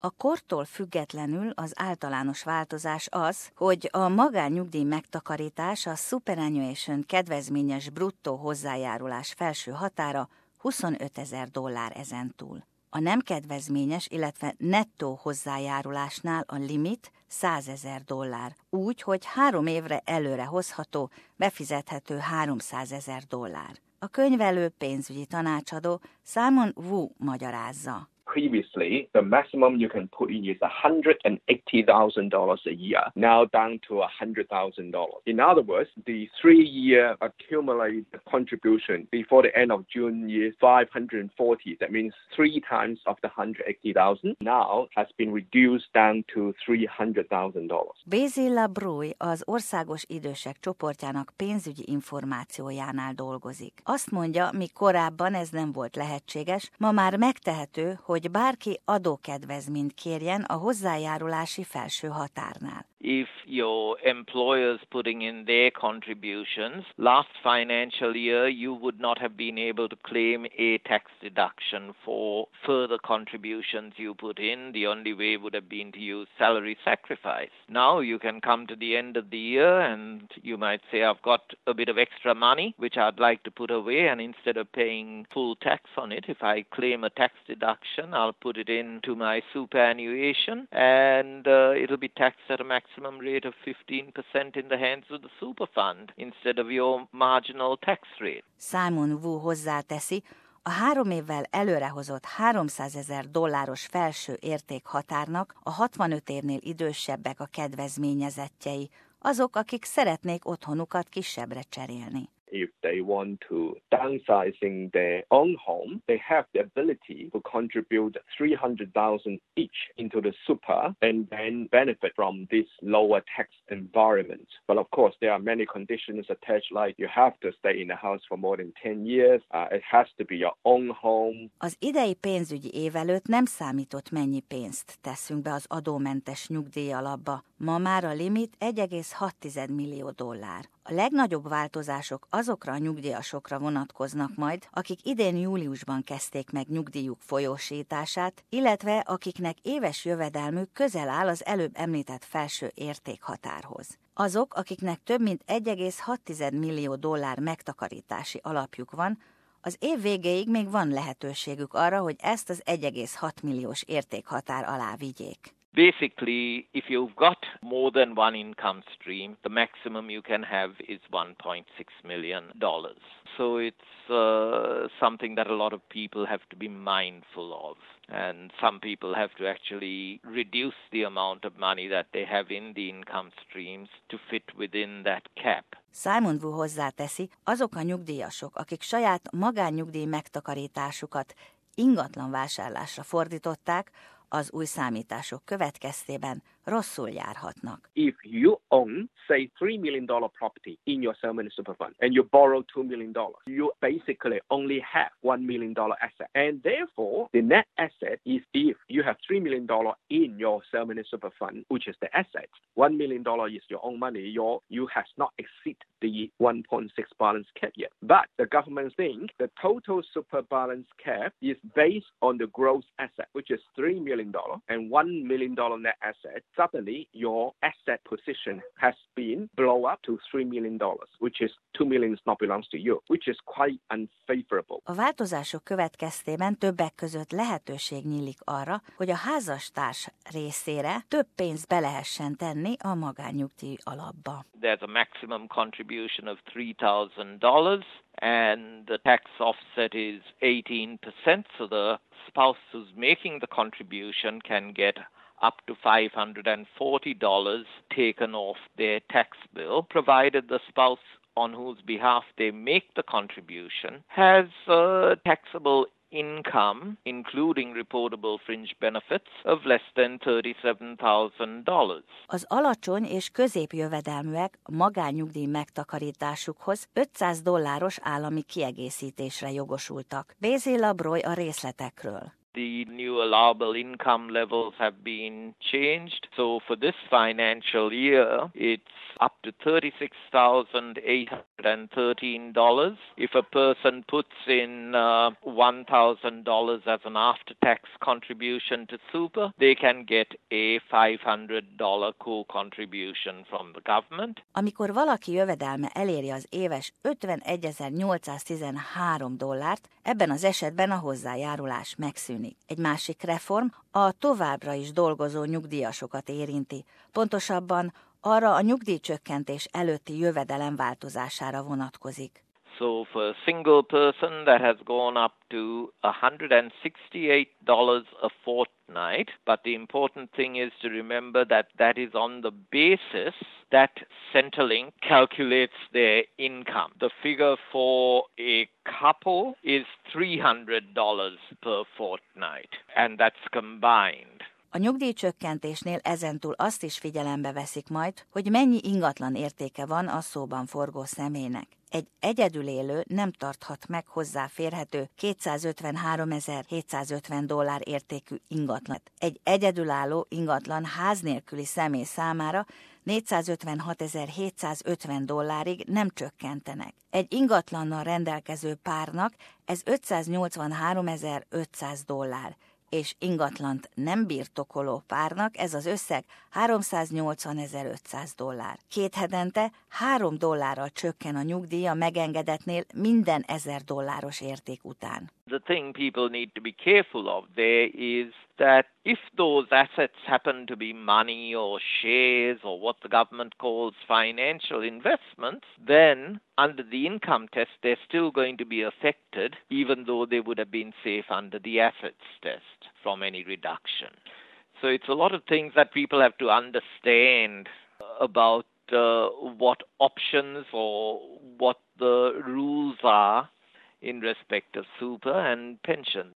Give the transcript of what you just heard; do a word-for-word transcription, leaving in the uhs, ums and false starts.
A kortól függetlenül az általános változás az, hogy a magánnyugdíj megtakarítás a superannuation kedvezményes bruttó hozzájárulás felső határa huszonötezer dollár ezentúl. A nem kedvezményes, illetve nettó hozzájárulásnál a limit százezer dollár, úgy, hogy három évre előre hozható, befizethető háromszázezer dollár. A könyvelő pénzügyi tanácsadó Simon Wu magyarázza. Previously, the maximum you can put in is one hundred eighty thousand dollars a year, now down to one hundred thousand dollars. In other words, the three-year accumulated contribution before the end of June is five hundred forty. That means three times of the one hundred eighty thousand now has been reduced down to three hundred thousand dollars. Basil LaBrue az Országos Idősek csoportjának pénzügyi információjánál dolgozik. Azt mondja, míg korábban ez nem volt lehetséges, ma már megtehető, hogy hogy bárki adókedvezményt kérjen a hozzájárulási felső határnál. If your employer's putting in their contributions, last financial year you would not have been able to claim a tax deduction for further contributions you put in. The only way would have been to use salary sacrifice. Now you can come to the end of the year and you might say, I've got a bit of extra money which I'd like to put away, and instead of paying full tax on it, if I claim a tax deduction, I'll put it into my superannuation and uh, it'll be taxed at a maximum rate of fifteen percent in the hands of the super fund instead of your marginal tax rate. Simon Wu hozzáteszi, a három évvel előrehozott háromszázezer dolláros felső értékhatárnak a hatvanöt évnél idősebbek a kedvezményezettjei, azok, akik szeretnék otthonukat kisebbre cserélni. If they want to downsizing their own home, they have the ability to contribute three hundred thousand each into the super and then benefit from this lower tax environment. But of course, there are many conditions attached, like you have to stay in the house for more than ten years. Uh, it has to be your own home. Az idei pénzügyi év előtt nem számított, mennyi pénzt teszünk be az adómentes nyugdíj alapba. Ma már a limit egy egész hat millió dollár. A legnagyobb változások azokra a nyugdíjasokra vonatkoznak majd, akik idén júliusban kezdték meg nyugdíjuk folyósítását, illetve akiknek éves jövedelmük közel áll az előbb említett felső értékhatárhoz. Azok, akiknek több mint egy egész hat millió dollár megtakarítási alapjuk van, az év végéig még van lehetőségük arra, hogy ezt az egy egész hat milliós értékhatár alá vigyék. Basically, if you've got more than one income stream, the maximum you can have is one point six million dollars. So it's uh, something that a lot of people have to be mindful of. And some people have to actually reduce the amount of money that they have in the income streams to fit within that cap. Simon Wu hozzáteszi, azok a nyugdíjasok, akik saját magánnyugdíj megtakarításukat ingatlan vásárlásra fordították, az új számítások következtében rosszul járhatnak. If you own, say, three million dollars property in your settlement super fund and you borrow two million dollars, you basically only have one million dollars asset. And therefore, the net asset is if you have three million dollars in your settlement super fund, which is the asset, one million dollars is your own money, your, you have not exceed the one point six balance cap yet. But the government thinks the total super balance cap is based on the gross asset, which is three million dollars and one million dollars net asset. Suddenly, your asset position has been blow up to three million dollars, which is two million dollars not belongs to you, which is quite unfavorable. A változások következtében többek között lehetőség nyílik arra, hogy a házastárs részére több pénzt be lehessen tenni a magánnyugdíj alapba. There's a maximum contribution of three thousand dollars and the tax offset is eighteen percent, so the spouse who's making the contribution can get up to five hundred forty dollars taken off their tax bill, provided the spouse on whose behalf they make the contribution has uh, taxable income, including reportable fringe benefits, of less than thirty-seven thousand dollars. Az alacsony és középjövedelműek magánnyugdíj megtakarításukhoz ötszáz dolláros állami kiegészítésre jogosultak. Basil LaBrue a részletekről. The new allowable income levels have been changed. So for this financial year, it's up to thirty-six thousand eight hundred thirteen dollars. If a person puts in uh, one thousand dollars as an after-tax contribution to super, they can get a five hundred dollars co-contribution from the government. Amikor valaki jövedelme eléri az éves ötvenegy-nyolcszáztizenhárom dollárt, ebben az esetben a hozzájárulás megszűnik. Egy másik reform a továbbra is dolgozó nyugdíjasokat érinti, pontosabban arra a nyugdíjcsökkentés előtti jövedelem változására vonatkozik. So for a single person that has gone up to one hundred sixty-eight dollars a fortnight, but the important thing is to remember that that is on the basis that Centrelink calculates their income. The figure for a couple is three hundred dollars per fortnight, and that's combined. A nyugdíjcsökkentésnél ezentúl azt is figyelembe veszik majd, hogy mennyi ingatlan értéke van a szóban forgó személynek. Egy egyedül élő nem tarthat meg hozzáférhető kétszázötvenháromezer-hétszázötven dollár értékű ingatlant. Egy egyedülálló ingatlan ház nélküli személy számára négyszázötvenhatezer-hétszázötven dollárig nem csökkentenek. Egy ingatlannal rendelkező párnak ez ötszáznyolcvanháromezer-ötszáz dollár, és ingatlant nem birtokoló párnak ez az összeg háromszáznyolcvanezer-ötszáz dollár. Két hetente három dollárral csökken a nyugdíj a megengedetnél minden ezer dolláros érték után. The thing people need to be careful of there is that if those assets happen to be money or shares or what the government calls financial investments, then under the income test they're still going to be affected even though they would have been safe under the assets test from any reduction. So it's a lot of things that people have to understand about uh, what options or what the rules are in respect of super and pension.